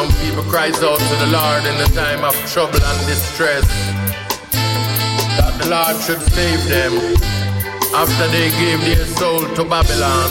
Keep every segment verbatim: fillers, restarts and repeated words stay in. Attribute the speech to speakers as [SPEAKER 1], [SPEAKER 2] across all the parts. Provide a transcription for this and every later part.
[SPEAKER 1] Some people cries out to the Lord in the time of trouble and distress, that the Lord should save them after they gave their soul to Babylon.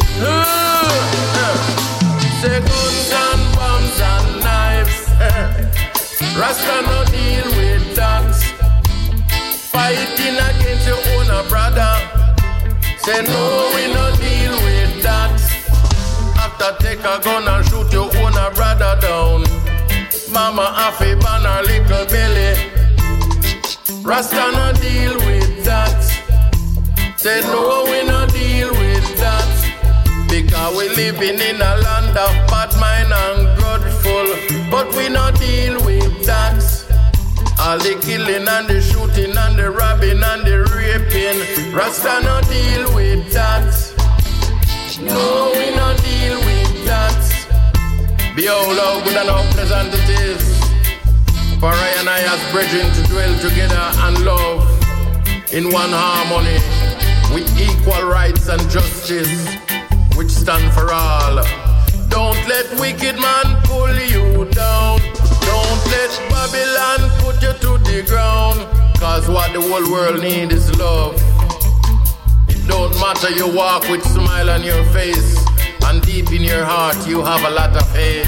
[SPEAKER 1] Say guns and bombs and knives, Rasta no deal with that. Fighting against your own brother. Say no, we no deal with that. After take a gun and shoot your own brother down, Mama have a ban her little belly. Rasta no deal with that. Say no, we no deal with that. Because we living in a land of bad mind and grudgeful, but we no deal with that. All the killing and the shooting and the robbing and the raping, Rasta no deal with that. No, we no deal with that. Behold how good and how pleasant it is for I and I as brethren to dwell together and love in one harmony, with equal rights and justice, which stand for all. Don't let wicked man pull you down. Don't let Babylon put you to the ground. Cause what the whole world need is love. It don't matter you walk with smile on your face, and deep in your heart you have a lot of hate.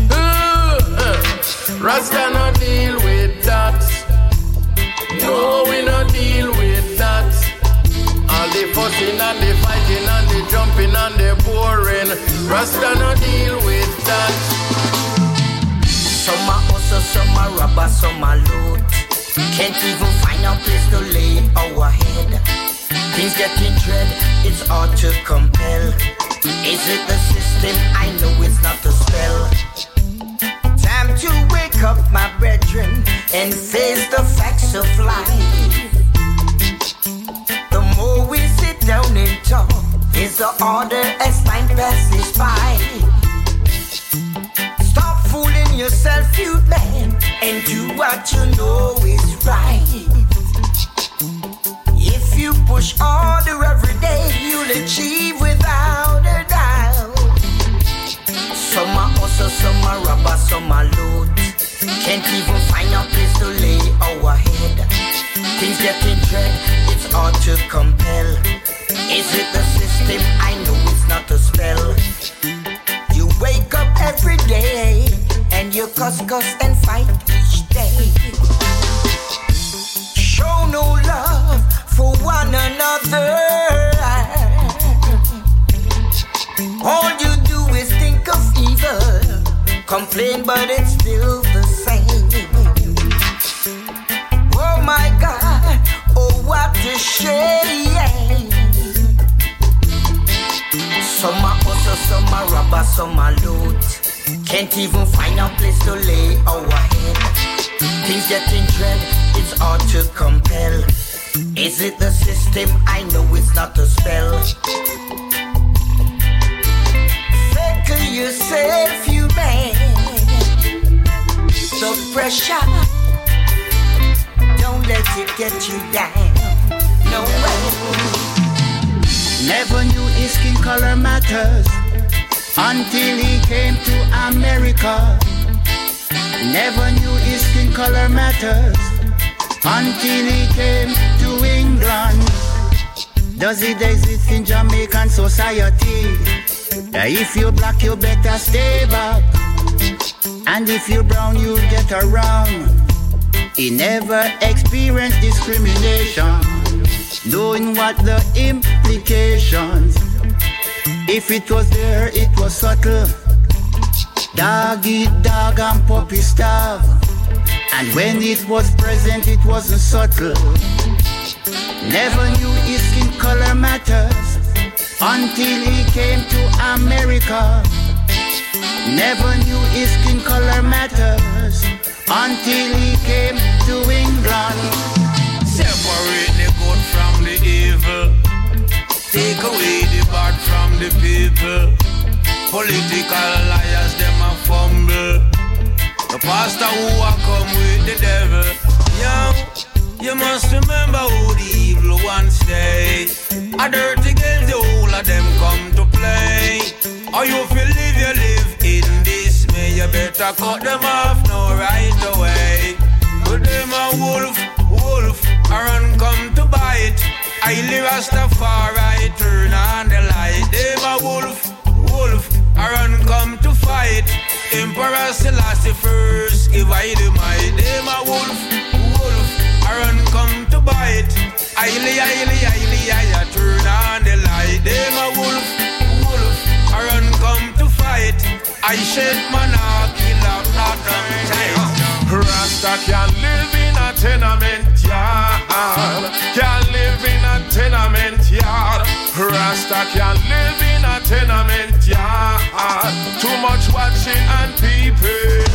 [SPEAKER 1] Rasta no deal with that. No, we no deal with that. All the fussing and the fighting and the jumping and the boring, Rasta no deal with that.
[SPEAKER 2] Some are hustle, some are robber, some are loot. Can't even find a place to lay our head. Things getting dread, it's hard to compel. Is it the system? I know it's not the spell. Time to wake up, my brethren, and face the facts of life. The more we sit down and talk, is the order as time passes by. Stop fooling yourself, you man, and do what you know is right. If you push harder every day, you'll achieve without a doubt. Some are hustle, some are robber, some are loot. Can't even find a place to lay our head. Things getting dread, it's hard to compel. Is it the system? I know it's not a spell. You wake up every day and you cuss, cuss and fight each day. Show no love for one another. All you do is think of evil, complain but it's still the same. Oh my God, oh what a shame. Some are hustle, some are robber, some are loot. Can't even find a place to lay our head. Things getting dread, it's hard to compel. Is it the system? I know it's not a spell. Circle yourself, you man. The pressure, don't let it get you down. No way.
[SPEAKER 3] Never knew his skin color matters until he came to America. Never knew his skin color matters until he came to England. Does it exist in Jamaican society? If you're black, you better stay back. And if you're brown, you get around. He never experienced discrimination, knowing what the implications. If it was there, it was subtle. Dog eat dog and puppy starve. And when it was present, it wasn't subtle. Never knew his skin color matters until he came to America. Never knew his skin color matters until he came to England.
[SPEAKER 4] Separate the good from the evil. Take away the bad from the people. Political liars, them a fumble. The pastor who a come with the devil. Yo, you must remember who the evil ones stay. A dirty game, the whole of them come to play. Or you feel live, you live in dismay. You better Jah cut them off now right away. But them a wolf, wolf, a run come to bite. Highly Rastafari turn on the light. Them a wolf, wolf, a run come to fight. Emperor Selassie first, give I the might. Them a wolf, wolf, a run come to bite. Highly, highly, highly, I turn on the light. Them a wolf, wolf, a run come to fight. I shed monarchy, love, not tight.
[SPEAKER 1] Rasta can live in a tenement yard. Can live in a tenement yard. Rasta can live in a tenement yard. Too much watching and peeping.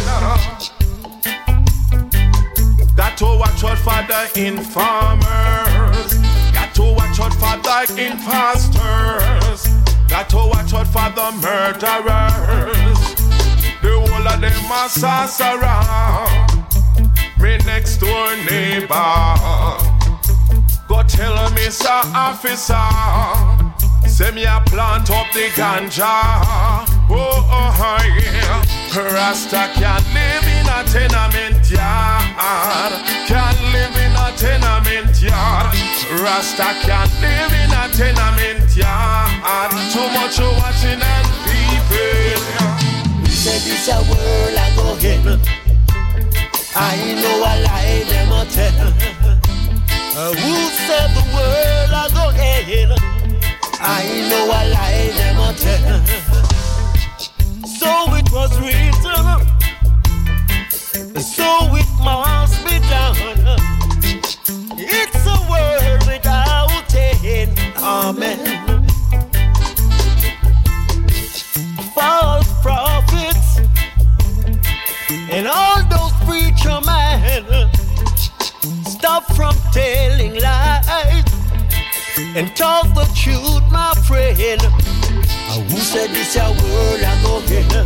[SPEAKER 1] Got to watch out for the informers. Got to watch out for the imposters. Got to watch out for the murderers. The whole of them a sorcerer. Me next door neighbor go tell me, sir officer, say me a plant up the ganja. Oh, oh yeah. Rasta can live in a tenement yard. Can live in a tenement yard. Rasta can live in a tenement yard. Too much watching and peeping.
[SPEAKER 5] Say this a world I go hell. I know a lie them a tell. uh, Who said the world I go hell? I know a lie them a tell. So it was written, so it must be done. It's a world without end. Amen. False prophets and all those preacher men, stop from telling lies and talk the truth, my friend. Who said this a world I go in?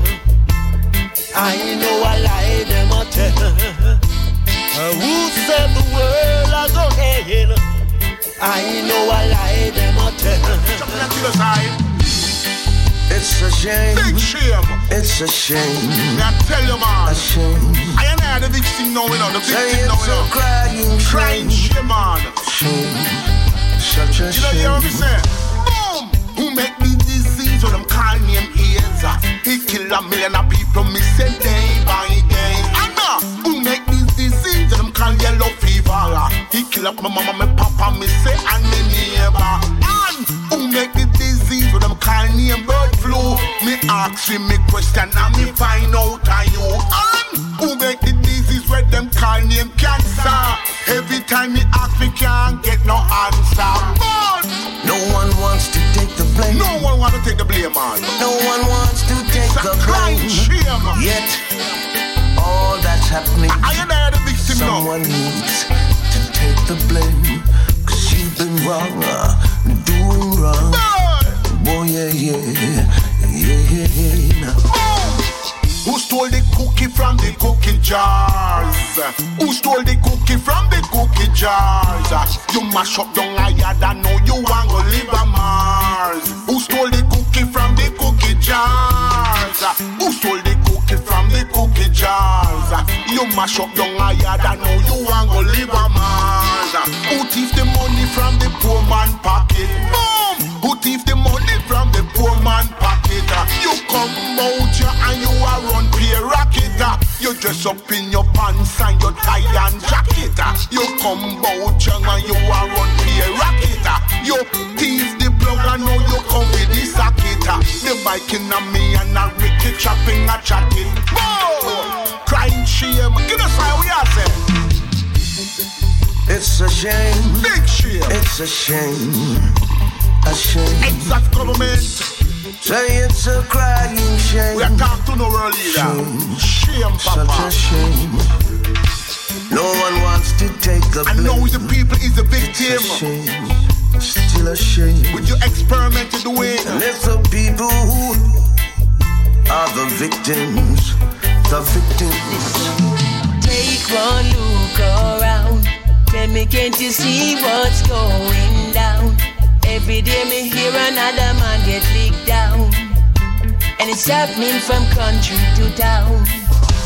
[SPEAKER 5] I know a lie them a tell. Who said the world I go in? I know a lie them a tell.
[SPEAKER 6] It's a shame.
[SPEAKER 7] Big shame.
[SPEAKER 6] It's a shame.
[SPEAKER 7] I tell you, man.
[SPEAKER 6] A shame.
[SPEAKER 7] I ain't had the victim now, you know. The victim now, you know.
[SPEAKER 6] Crying,
[SPEAKER 7] crying shame, man.
[SPEAKER 6] Shame. Such a
[SPEAKER 7] you
[SPEAKER 6] shame.
[SPEAKER 7] You know, you hear me say? Boom. Who make the disease when them call name AIDS? He kill a million of people, me say day by day. Anna. Who make this disease when them call yellow fever? He kill up my mama, my papa, me say and me neighbor. And who make the disease when them call name bird flu? Me ask him me question and me find out are you. And who make the disease when them call name cancer? Every time me ask me can't get no answer. But
[SPEAKER 6] no one wants to take the blame.
[SPEAKER 7] No one wants to take the blame, man.
[SPEAKER 6] No one wants to take
[SPEAKER 7] it's
[SPEAKER 6] the
[SPEAKER 7] a
[SPEAKER 6] blame.
[SPEAKER 7] Shame.
[SPEAKER 6] Yet all that's happening,
[SPEAKER 7] I, I ain't the victim
[SPEAKER 6] someone
[SPEAKER 7] now.
[SPEAKER 6] needs to take the blame. Cause you've been wrong, uh, doing wrong. Boy, yeah, yeah, yeah, yeah, yeah.
[SPEAKER 7] Who stole the cookie from the cookie jars? Who stole the cookie from the cookie jars? You mash up down a yard and know you want to live on Mars. Who stole the cookie from the cookie jars? Who stole the cookie from the cookie jars? You mash up down a yard and know you want to live on Mars. Who thief the money from the poor man pocket? Boom! Who thief the money from the poor man pocket? You come out here and you are run pay rocket. You dress up in your pants and your tie and jacket. You come out here and you are run pay rocket. You thief the plug and now you come with the socket. The bike in a me and a Ricky chopping a chatting. Whoa! Crying shame. Give us how we are saying.
[SPEAKER 6] It's a shame.
[SPEAKER 7] Big shame.
[SPEAKER 6] It's a shame. A shame.
[SPEAKER 7] Exact government.
[SPEAKER 6] Say it's a crying shame.
[SPEAKER 7] We are talking to no world leader. Shame, shame Papa.
[SPEAKER 6] Such a shame. No one wants to take the blame.
[SPEAKER 7] And now the people is the victim.
[SPEAKER 6] It's a shame. Still a shame.
[SPEAKER 7] With your experimented way.
[SPEAKER 6] And it's the people who are the victims. The victims.
[SPEAKER 8] Take one look around. Tell me, can't you see what's going down? Every day me hear another man get licked down. And it's happening from country to town.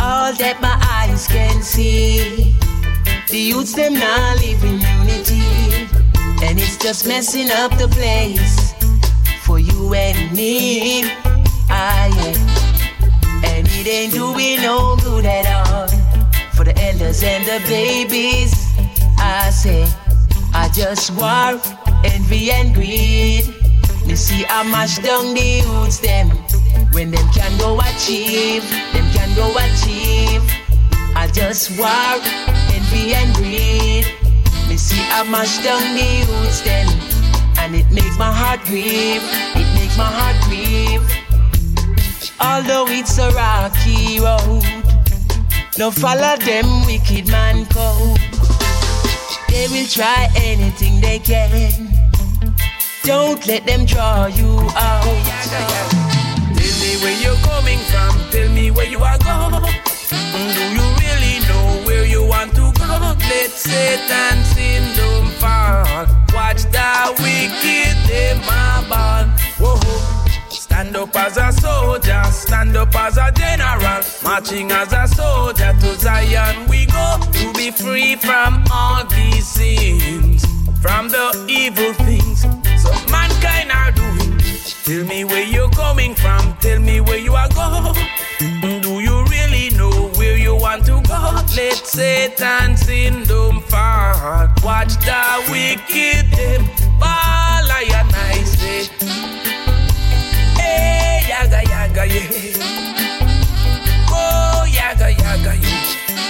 [SPEAKER 8] all that my eyes can see. The youths them now live in unity, and it's just messing up the place for you and me. Ah yeah, and it ain't doing no good at all for the elders and the babies. I say, I just war, envy and greed. You see, I mash down the youths them when them can go achieve, them can go achieve. I just war, envy and greed. Me see I mash down the youths then, and it makes my heart grieve, it makes my heart grieve. Although it's a rocky road, don't follow them wicked man code. They will try anything they can, don't let them draw you out.
[SPEAKER 4] Tell me where you're coming from, tell me where you are going. Do you really know where you want to go? Let Satan's kingdom fall. Watch the wicked, them a ball. Whoa. Stand up as a soldier, stand up as a general. Marching as a soldier to Zion we go, to be free from all these sins, from the evil things so mankind are doing. Tell me where you're coming from, tell me where you are going. Do you really know where you want to go? Let Satan's kingdom fall. Watch the wicked them fall. I and I say, hey, yaga yaga yeah. Oh, yaga yaga yeah.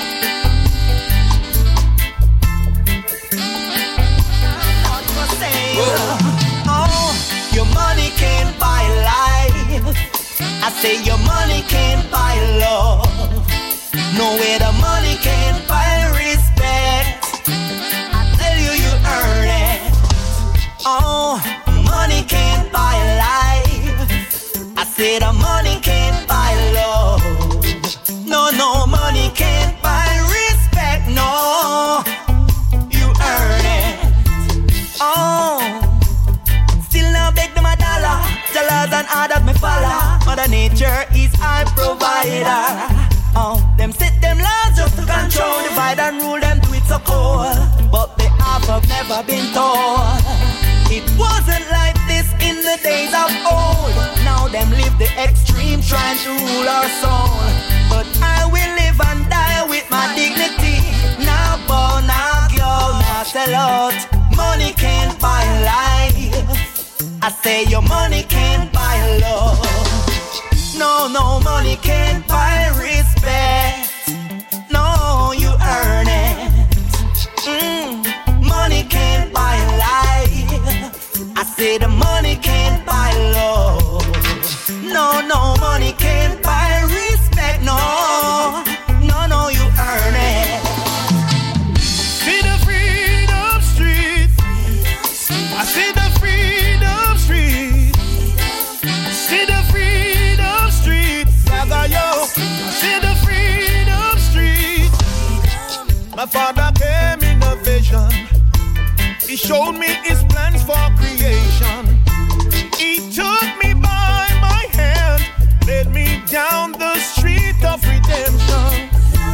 [SPEAKER 5] Oh, oh, your money can't buy life. I say your money can't buy love. No way the money can't buy respect. I tell you, you earn it. Oh, money can't buy life. I say the money can't buy love. No, no, money can't buy respect. No, you earn it. Oh, still now beg them a dollar. Dollars and others me follow. Mother Nature is our provider. Oh, them set them laws just to control, divide and rule them to it so cold. But the half have never been told. It wasn't like this in the days of old. Now them live the extreme trying to rule our soul. But I will live and die with my dignity. Now bow, now go, now sell out. Money can't buy life. I say your money can't buy love. No, no, money can't buy respect. No, you earn it. Mm, money can't buy life. I say the money can't buy love. No, no, money can't buy respect. No, no, no, you earn it.
[SPEAKER 9] See the freedom street. I see the freedom street. See the freedom street. Yaga yo. See the freedom street. My father came in a vision. He showed me his plans for creation. He took me by my hand, led me down the street of redemption.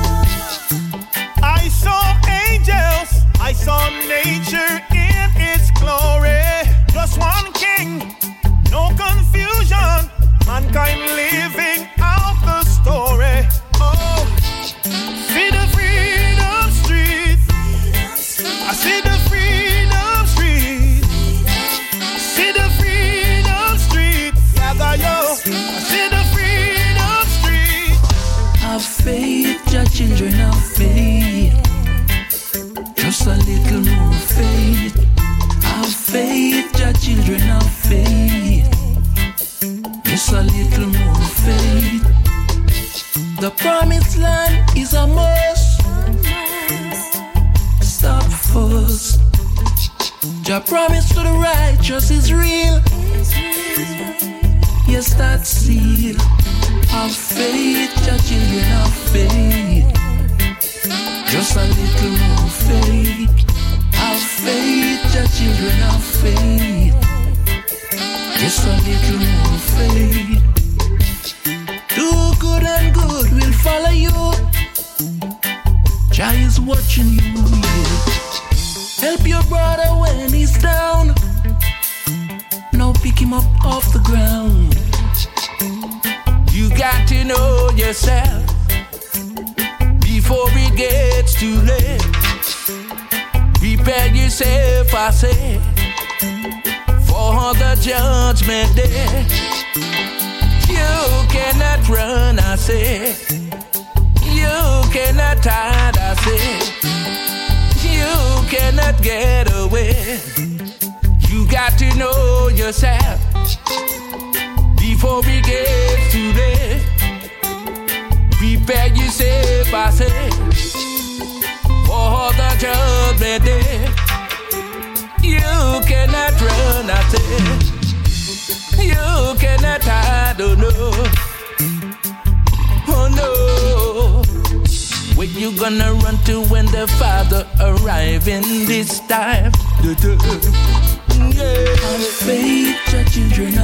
[SPEAKER 9] I saw angels, I saw nature in its glory. Just one king, no confusion, mankind living out the story. Oh, see the freedom street. I see the freedom street. See the freedom street. Yaga yo. I see the freedom street.
[SPEAKER 10] Have faith, your children have faith. Just a little more faith. Have faith, your children have faith. Just a little more faith. The promised land is a must. Stop first. Your promise to the righteous is real. Yes, that's seal. Have faith, your children have faith. Just a little more faith. Have faith, your children have faith. Just a little more faith. Do good and good will follow you. Jah is watching you, yeah. Help your brother when he's down. Now pick him up off the ground.
[SPEAKER 11] You got to know yourself before it gets too late. Prepare yourself, I say, for the judgment day. You cannot run, I say. You cannot hide, I say. You cannot get away. You got to know yourself before we get too late. Prepare yourself, I say, for the judgment day. You cannot run, I say. You cannot hide, oh no. Oh no. Where you gonna run to when the Father arriving this time?
[SPEAKER 10] Have faith, your children